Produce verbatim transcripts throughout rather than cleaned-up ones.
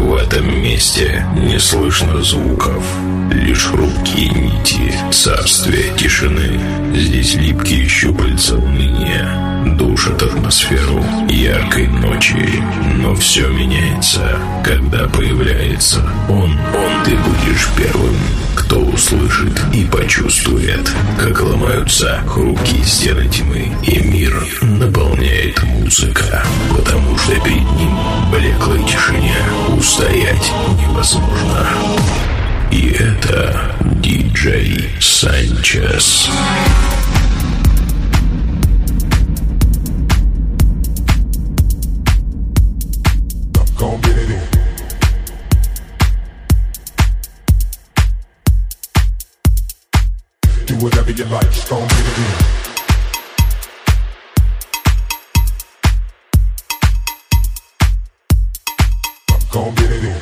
В этом месте не слышно звуков, лишь хрупкие нити царствия тишины. Здесь липкие щупальца уныния душат атмосферу яркой ночи. Но все меняется, когда появляется он. Он ты будешь первым, кто услышит и почувствует, как ломаются хрупкие стены тьмы, и мир наполняет музыка, потому что перед ним в блеклой тишине устоять невозможно. И это диджей Санчес. Whatever you like, just gon' get it in. Gon' get it in.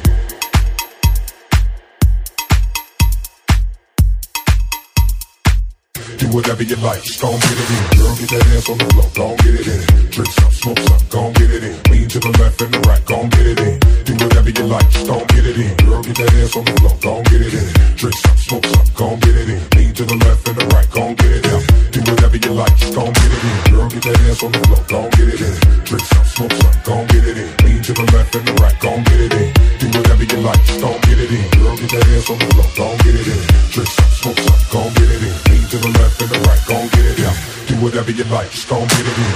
Do whatever you like, just gon' get it in. Girl, get that ass on the floor, gon' get it in. Drink some, smoke some, gon' get it in. Lean to the left and the right, gon' get it in. Do whatever you like, just gon' get it in. Girl, get that ass on the floor, gon' get it in. Drink some, smoke some, gon' get it in. Lean to the left and the right, gon' get it in. Do whatever you like, just gon' get it in. Girl, get that ass on the floor, gon' get it in. Drink some, smoke some, gon' get it in. Lean to the left and the right, gon' get it in. Do whatever you like, just gon' get it in. Girl, get that ass on the floor, gon' get it in. Drink some, smoke some, gon' get it in. Lean to the left and the right, gon' get it in. Do whatever you like, just gon' get it in.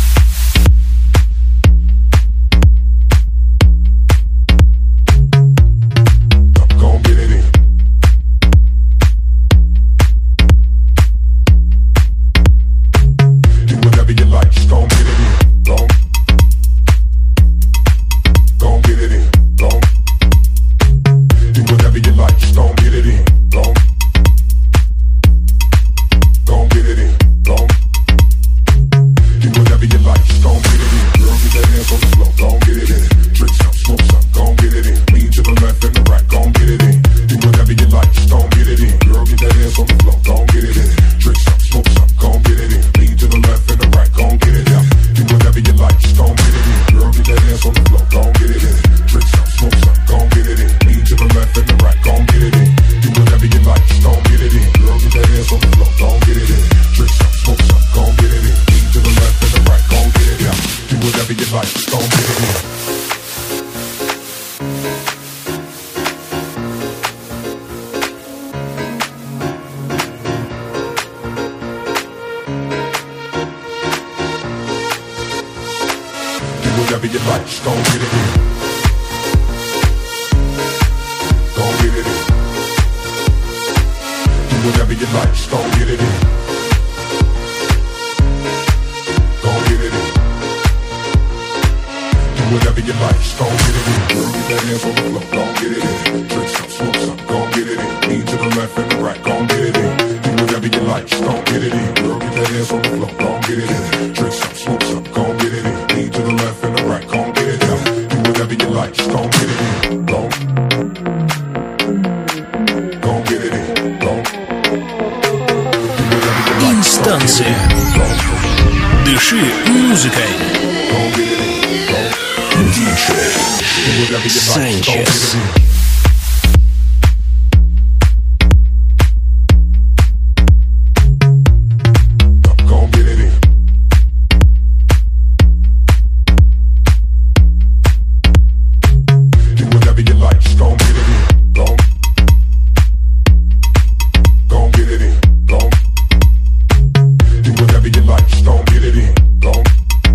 Whatever you like, just gon' get it in. Gon' get it in. Do whatever you like, just gon' get it in. Gon' get it in. Do whatever you like, just gon' get it in. Girl, get that ass on the floor, gon' get it in. Drink some, smoke some, gon' get it in. Lean to the left and the right, gon' get it in. Do whatever you like, just gon' get it in. Girl, get that ass on the floor, gon' get it in. Drink some, smoke some, gon' get it in. Lean to the left and the right, gon' get it in. Do whatever you like, just gon' get it in. Gon' gon' get it in. Gon' Инстанция. Дыши музыкой. диджей Санчес.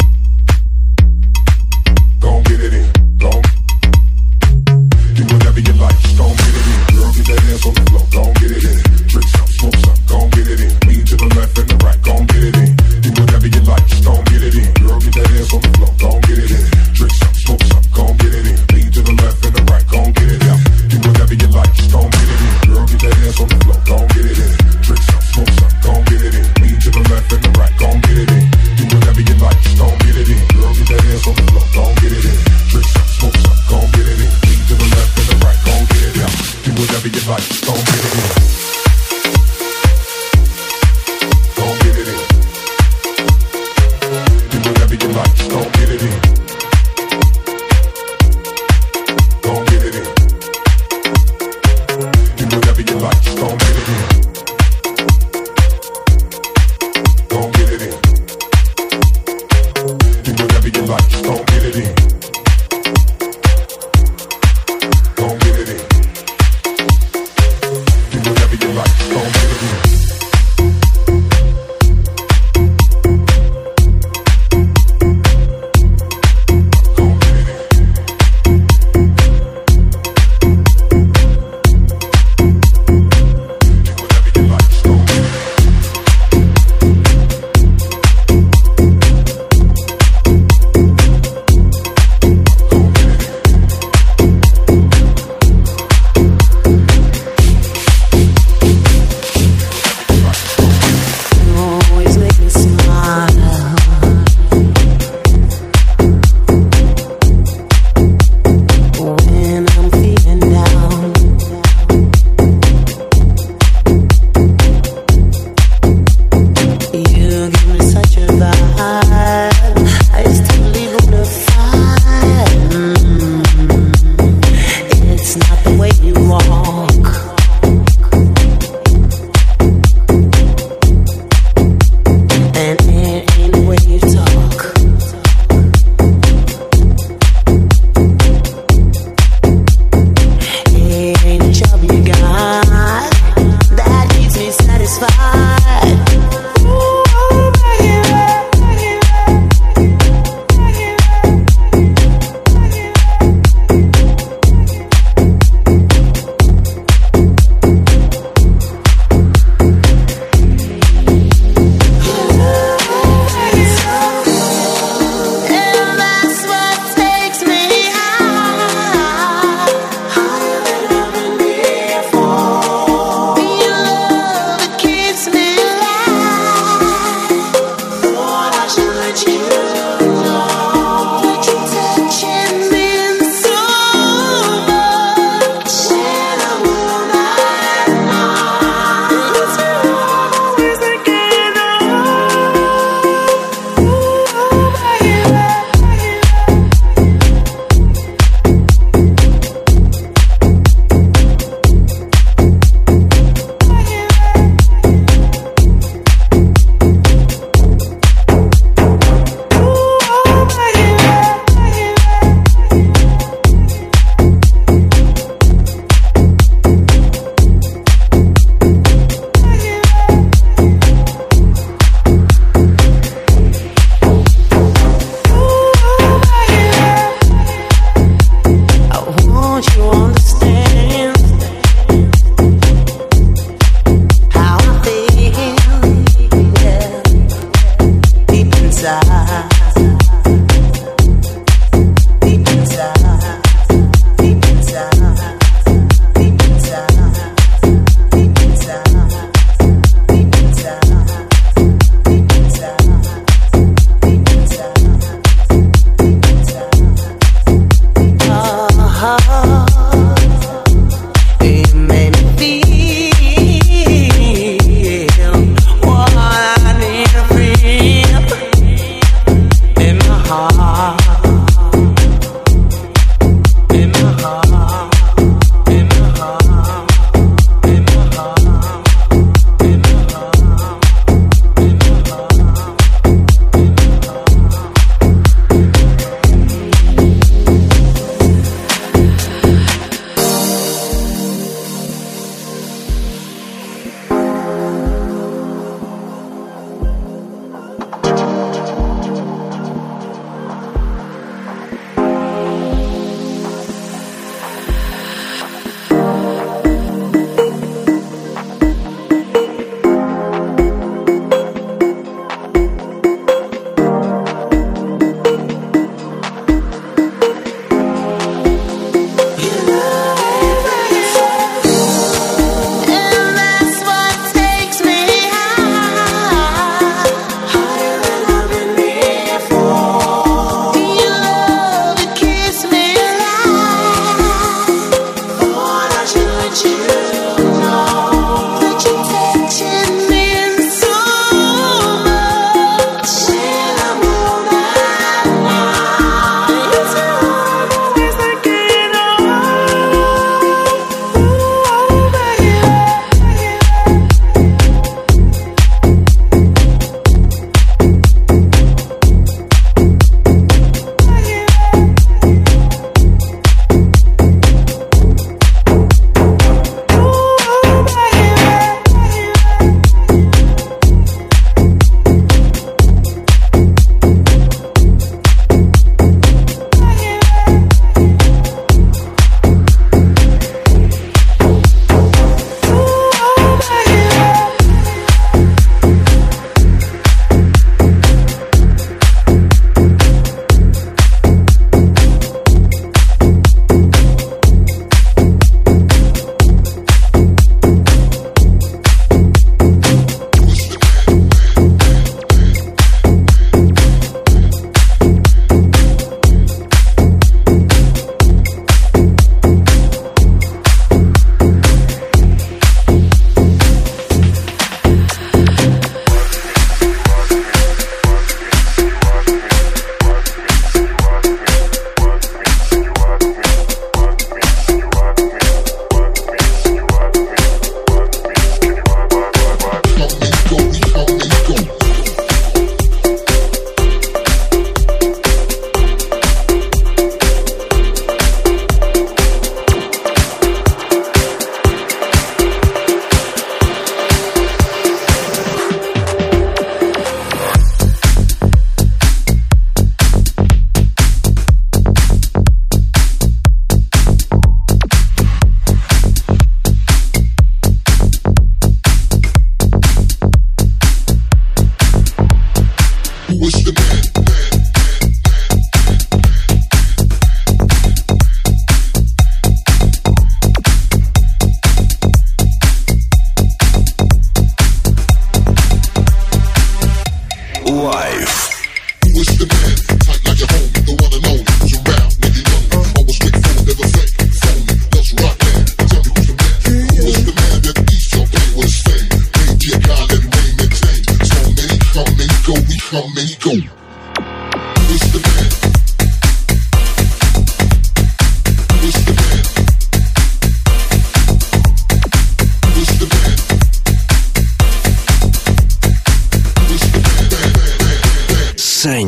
Whatever you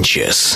Sanchez.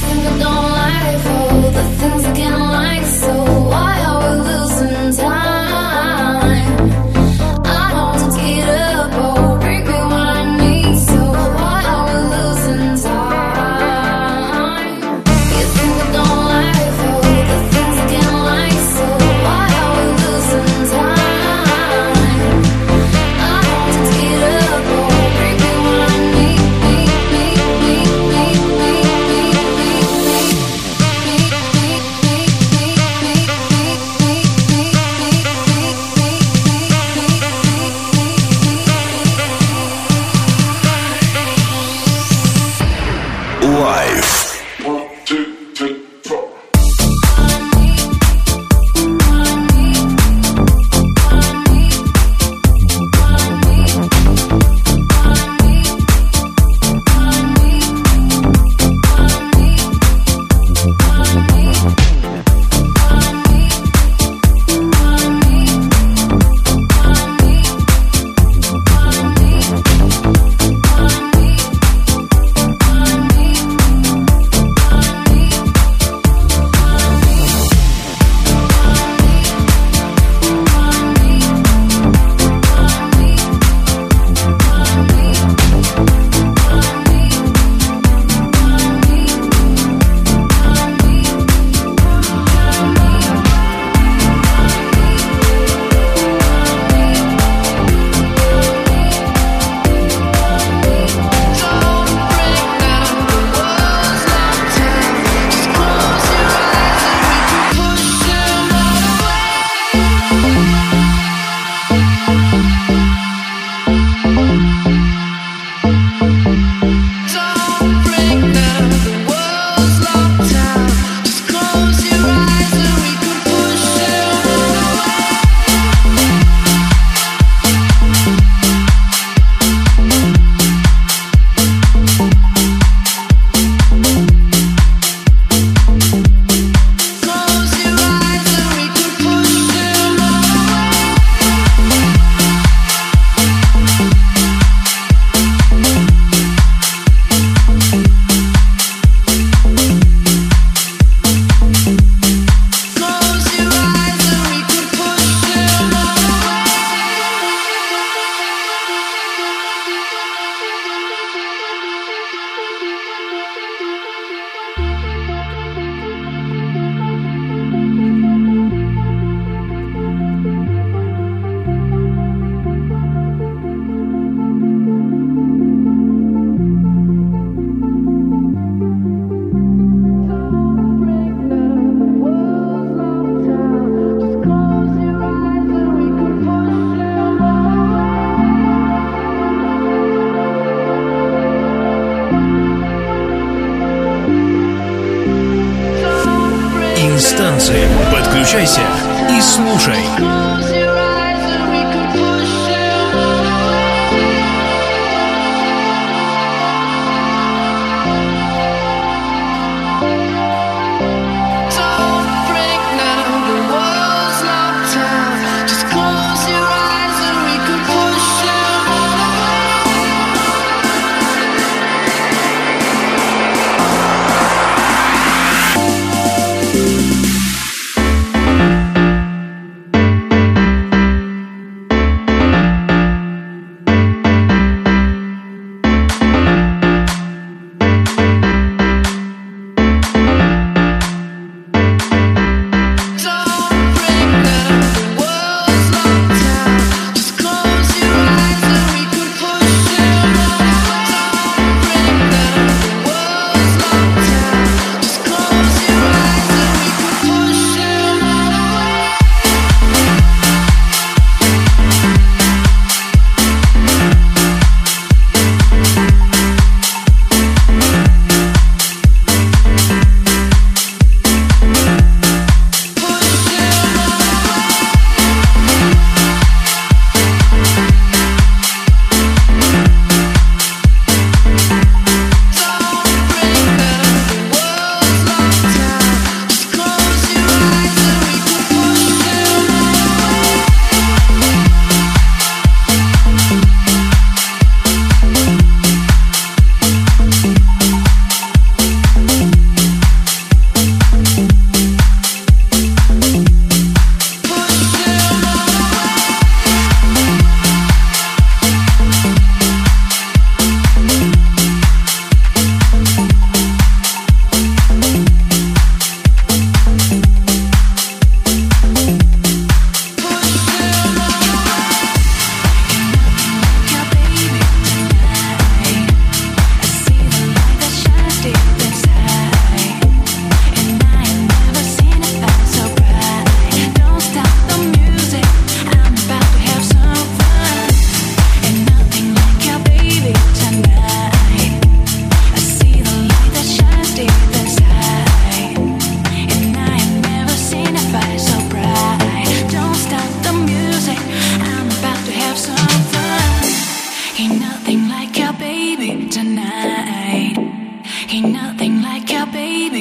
Инстанция. Подключайся и слушай.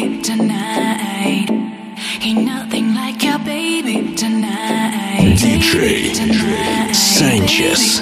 baby tonight. Ain't nothing like your baby tonight. диджей Санчес.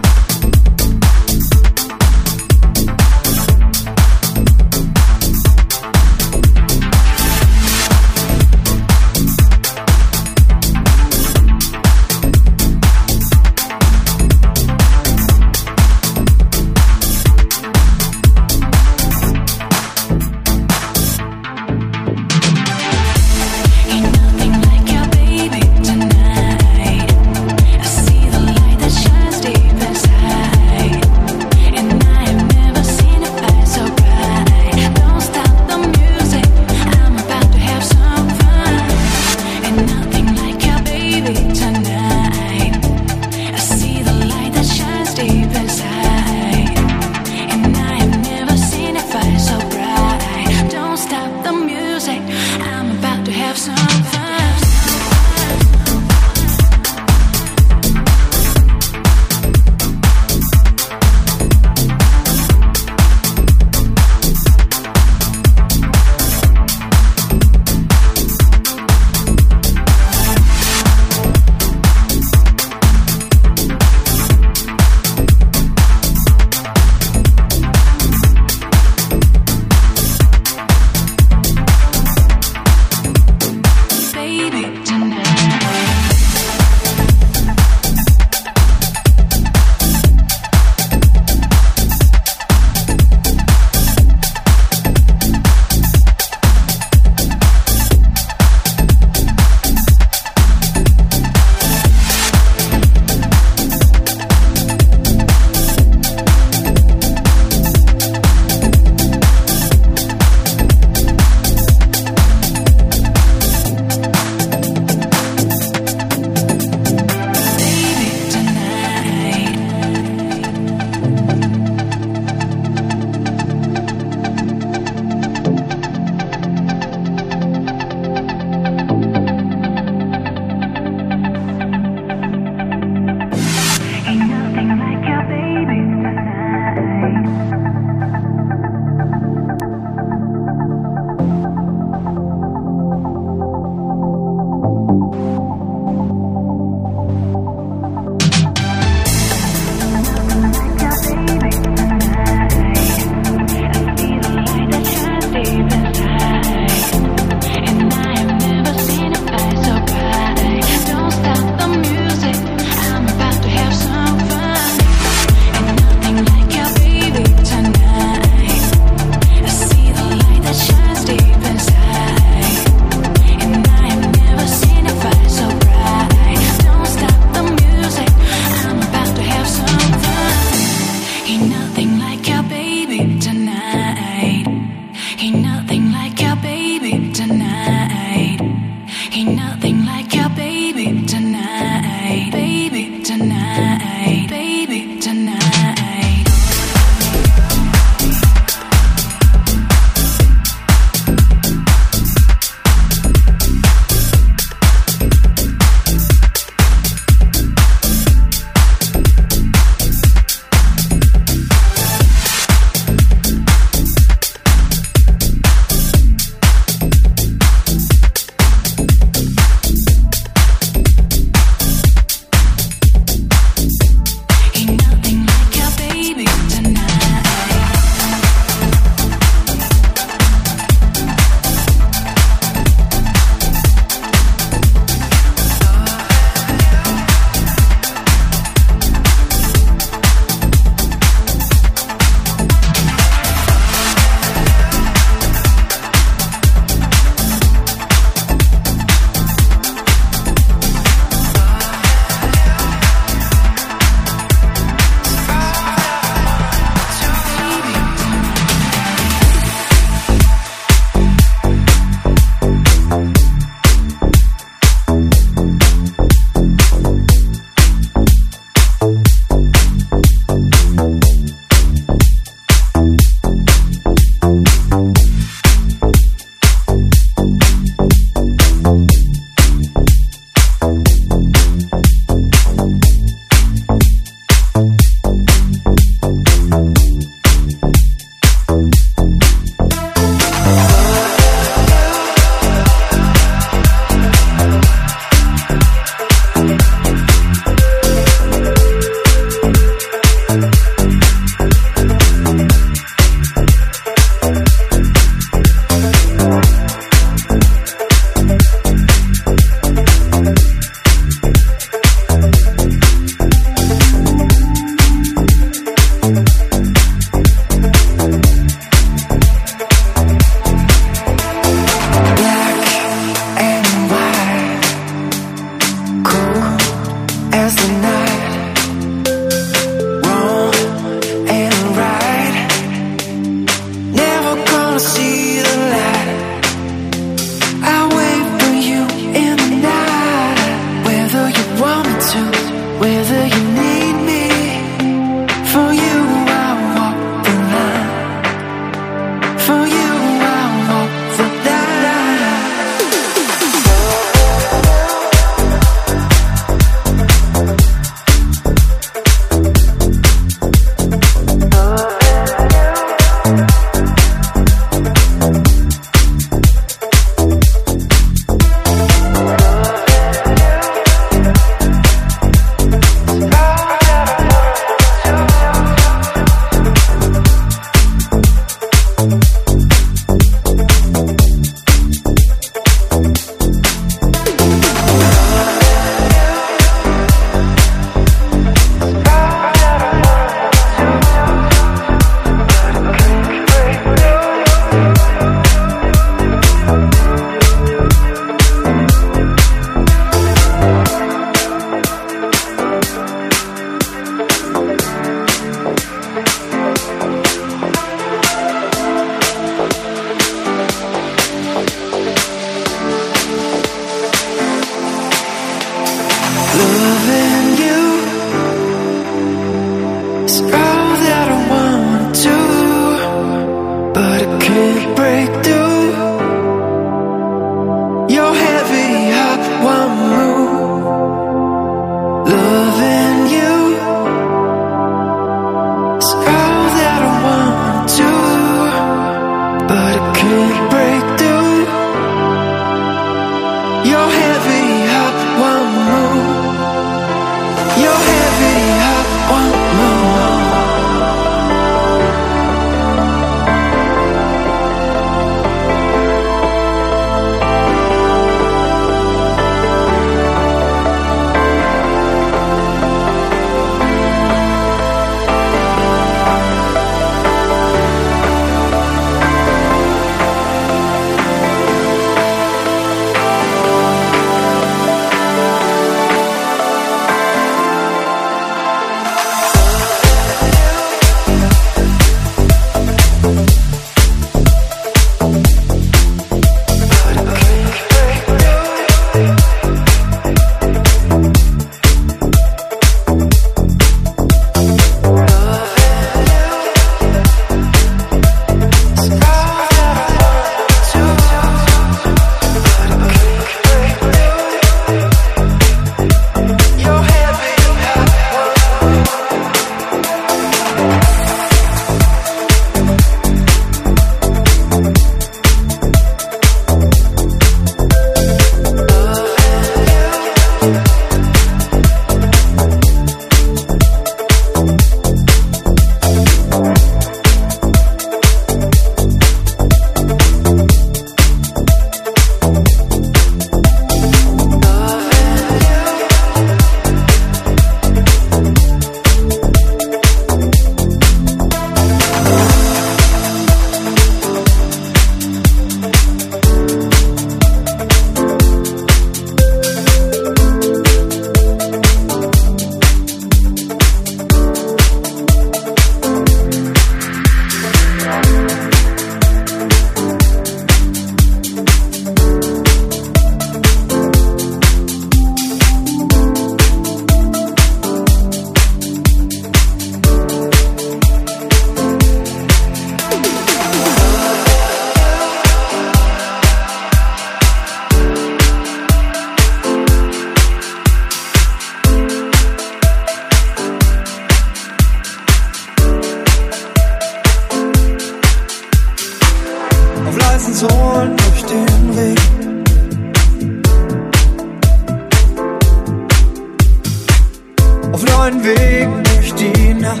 neuen Weg durch die Nacht.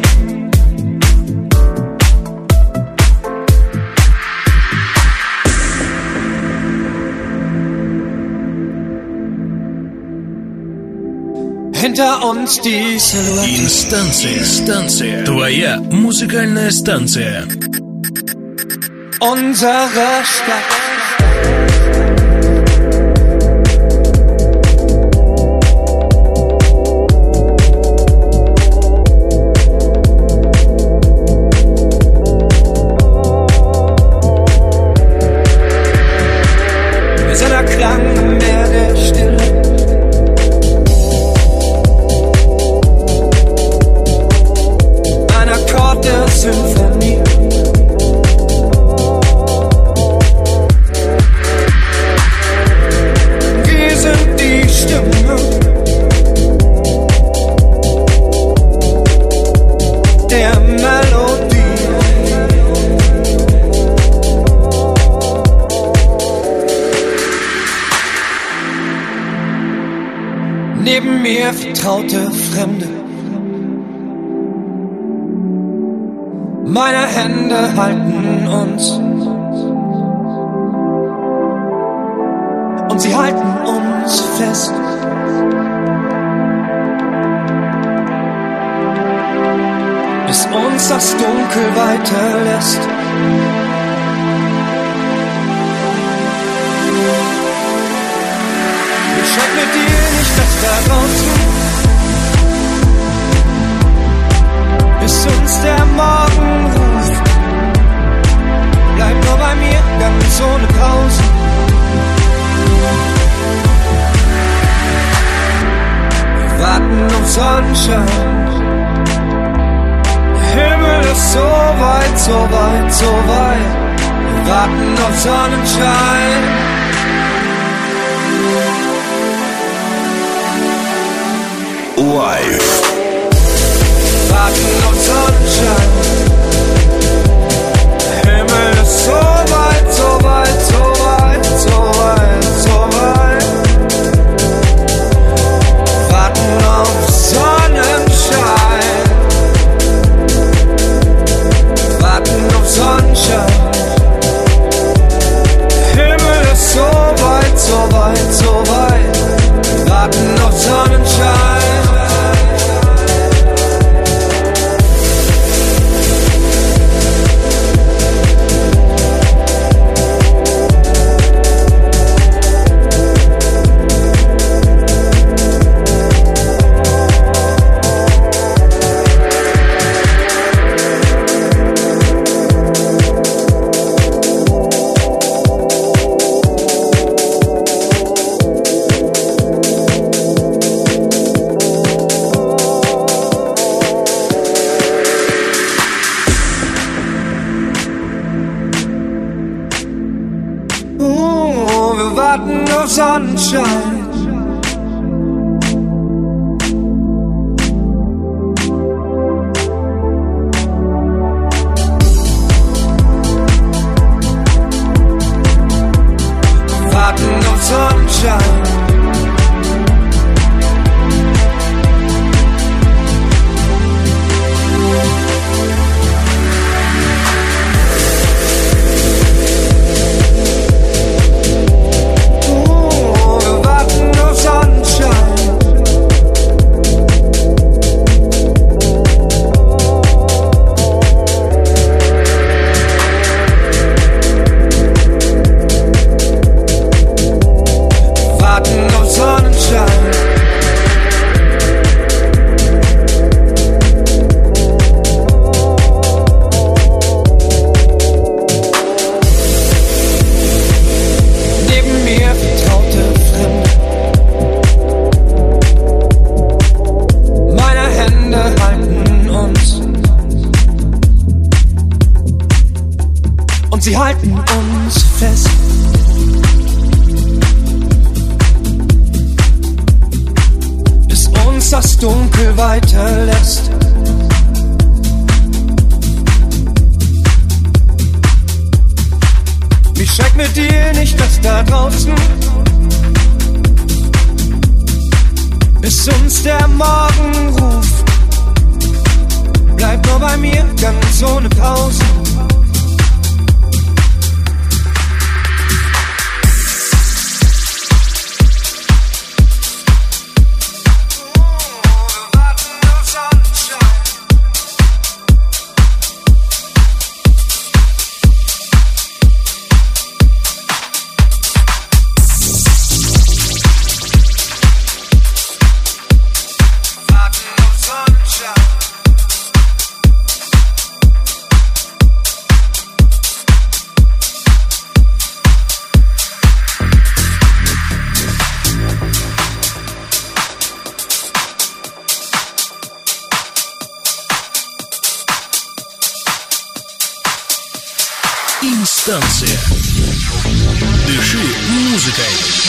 Hinter uns die Silhouette. Инстанция, станция. Твоя музыкальная станция. Unsere Stadt. Wir sind der Klang im Meer der Stille. Ein Akkord der Symphonie. Wir sind die Stimme der Melodie. Neben mir vertraute Fremde. Meine Hände halten uns und sie halten uns fest. Bis uns das Dunkel weiterlässt. Bescheid mit dir nicht, dass da draußen, bis uns der Morgen ruft. Bleib nur bei mir, ganz ohne Pause. Wir warten auf Sonnenschein. Der Himmel ist so weit, so weit, so weit. Wir warten auf Sonnenschein. Live. Warten auf Sonnenschein. Der Himmel ist so weit, so weit, so weit, so weit, so weit. Warten auf Sonnenschein. Warten auf Sonnenschein. Der Himmel ist so weit, so weit, so weit. Warten auf Sonnenschein. Sonnenschein. Warten auf Sonnenschein. Sie halten uns fest. Bis uns das Dunkel weiterlässt. Mich schreckt mit dir nicht das da draußen, bis uns der Morgen ruft. Bleib nur bei mir, ganz ohne Pause. Станция. Дыши музыкой.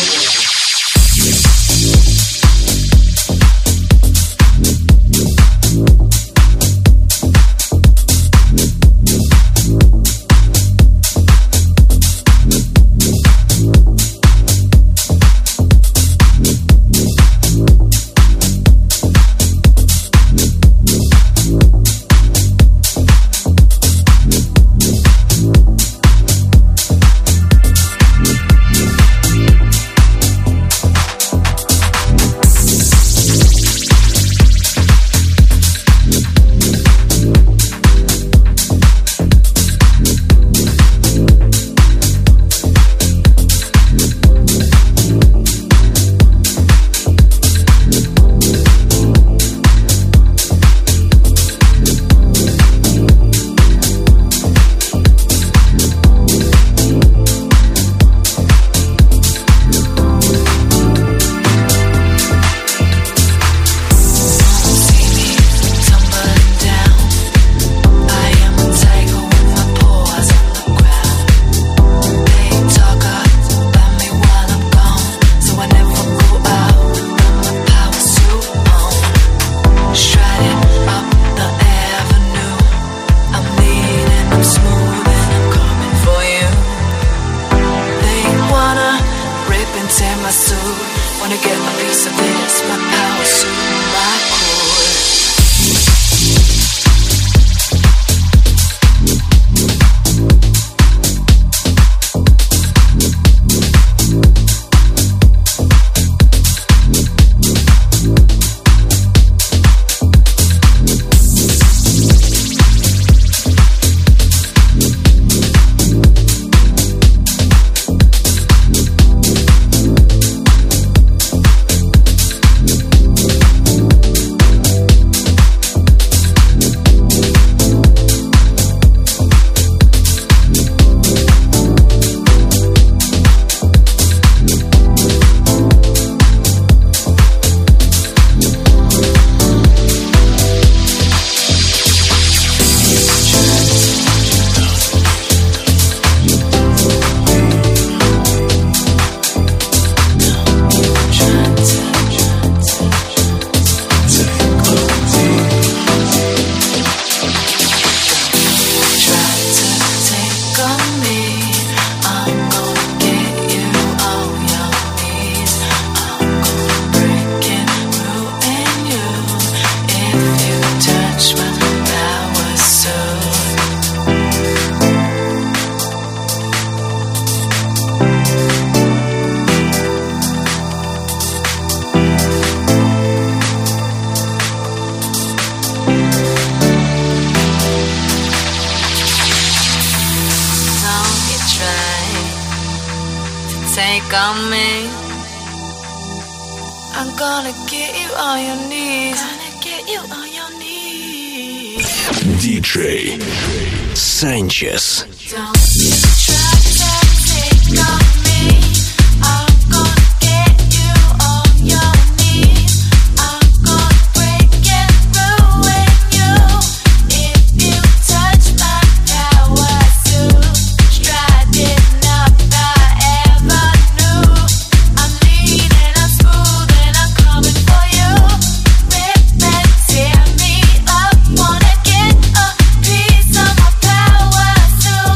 take on me. I'm gonna get you on your knees. Gonna get you on your knees. ди джей Sanchez. Don't try to take on me. I'm gonna get you on your knees. I'm gonna break and ruin you. If you touch my power suit, striding up the avenue. I'm leading, I'm smooth, and I'm coming for you. Rip and tear me up, wanna get a piece of my power suit.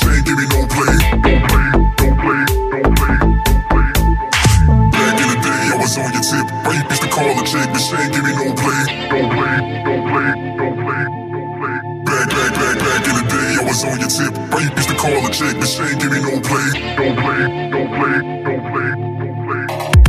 ain't give me no play. Don't play, don't play, don't play, don't play. Back in the day, I was on your tip. Rape used to call a chick, but she ain't give me no play. Don't play, don't play, don't play, don't play. Back, back, back, back in the day, I was on your tip. Rape used to call a chick, but she ain't give me no play. Don't play, don't play, don't play, don't play.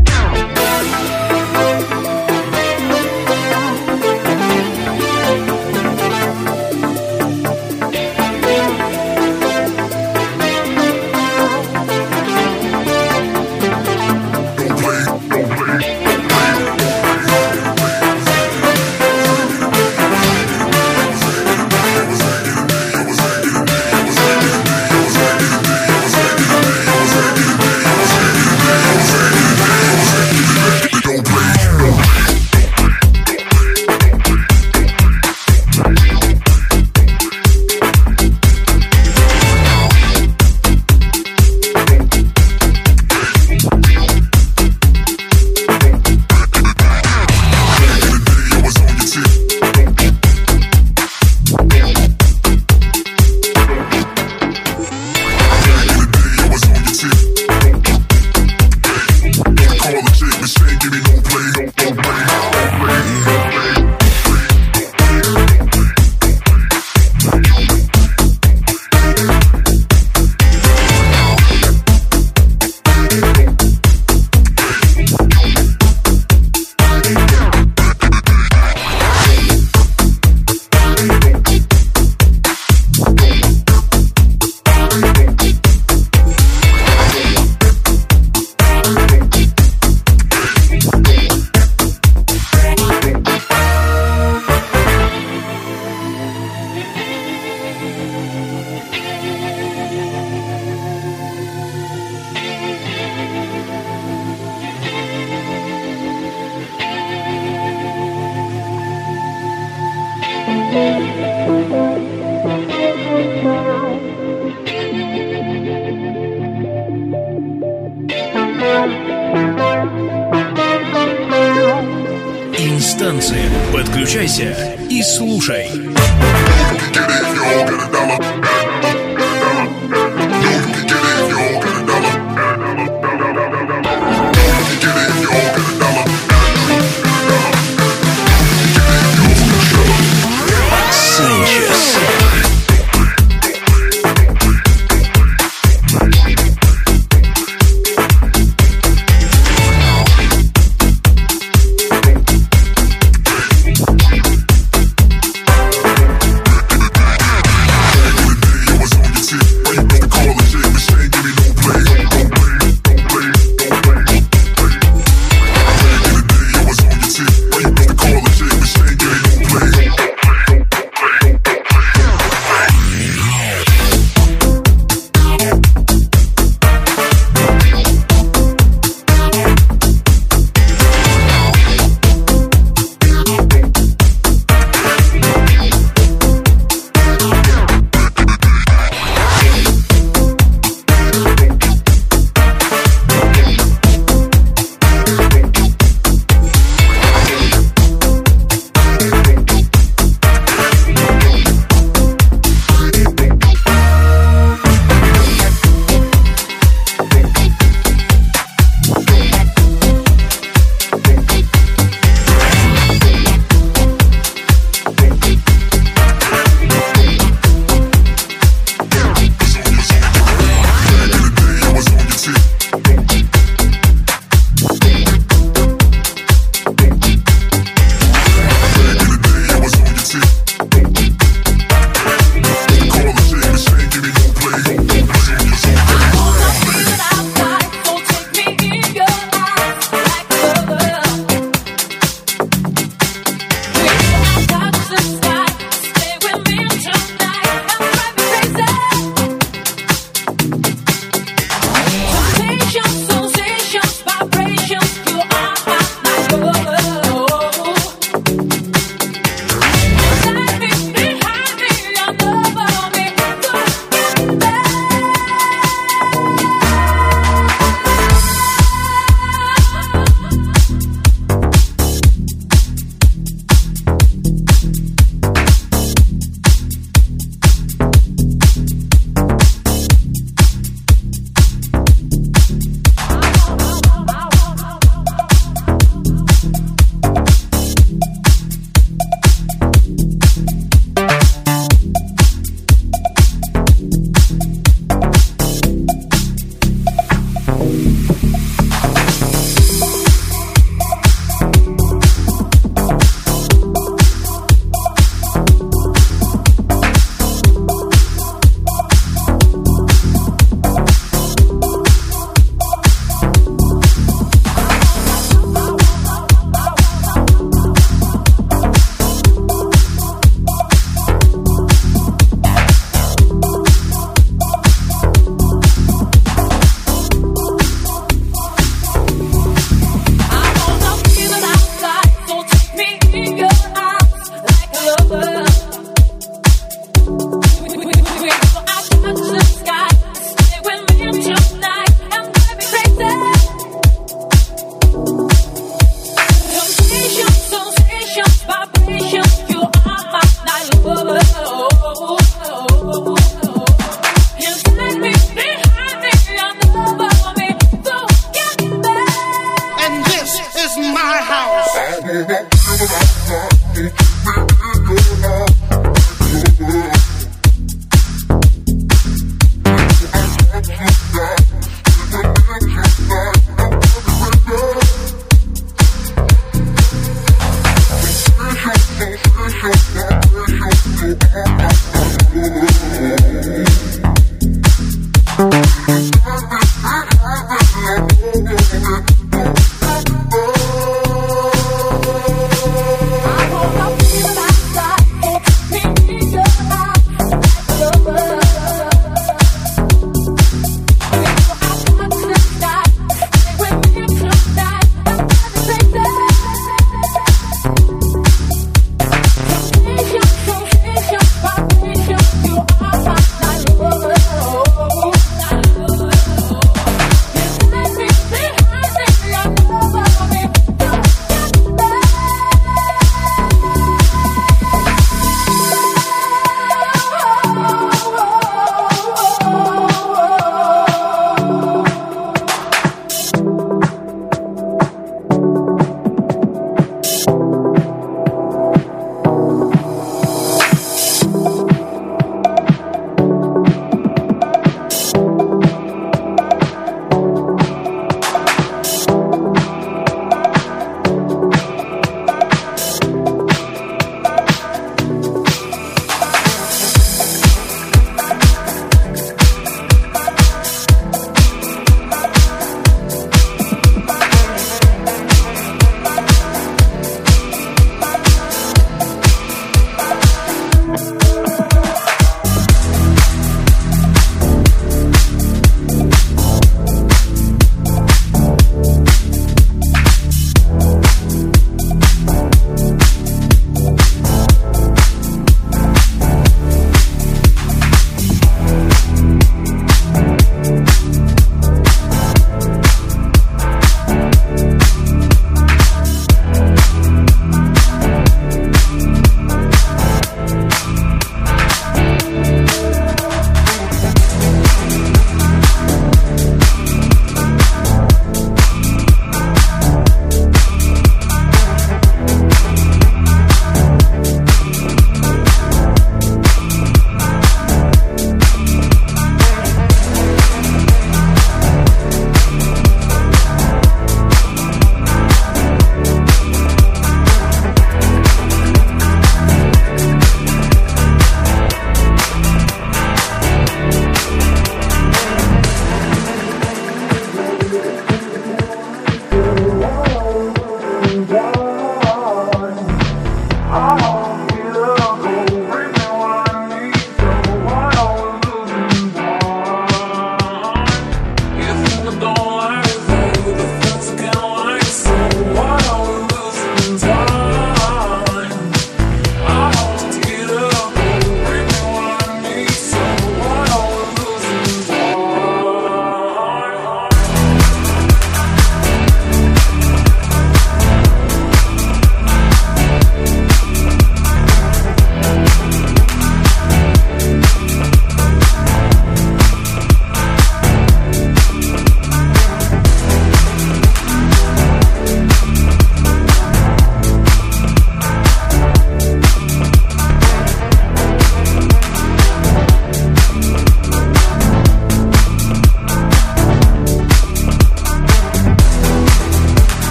Инстанция. Подключайся и слушай. Санчес. Was Over.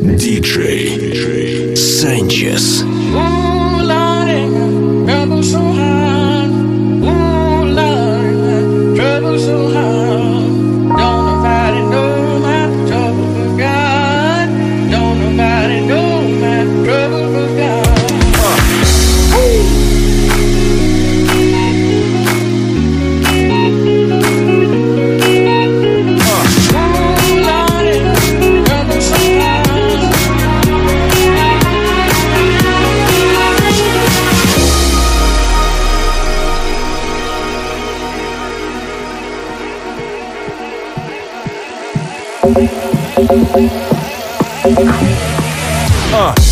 диджей Санчес. Ooh, Lordy, trouble so hard. Ooh, Lordy, trouble so hard. Don't nobody know my trouble but God. Don't nobody know my trouble but God. Ooh, Lordy, trouble so hard. Uh.